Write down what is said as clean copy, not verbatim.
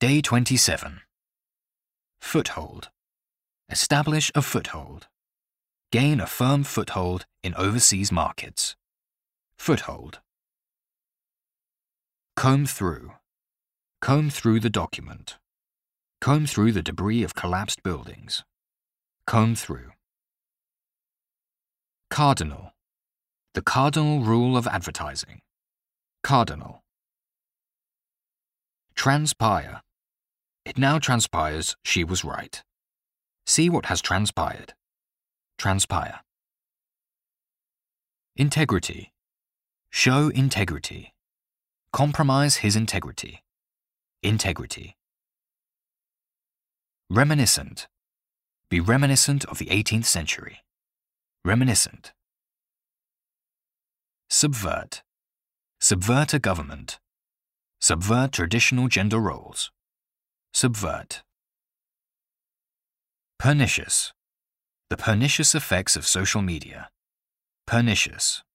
Day 27. Foothold. Establish a foothold. Gain a firm foothold in overseas markets. Foothold. Comb through. Comb through the document. Comb through the debris of collapsed buildings. Comb through. Cardinal. The cardinal rule of advertising. Cardinal. Transpire. It now transpires she was right. See what has transpired. Transpire. Integrity. Show integrity. Compromise his integrity. Integrity. Reminiscent. Be reminiscent of the 18th century. Reminiscent. Subvert. Subvert a government. Subvert traditional gender roles. Subvert. Pernicious. The pernicious effects of social media. Pernicious.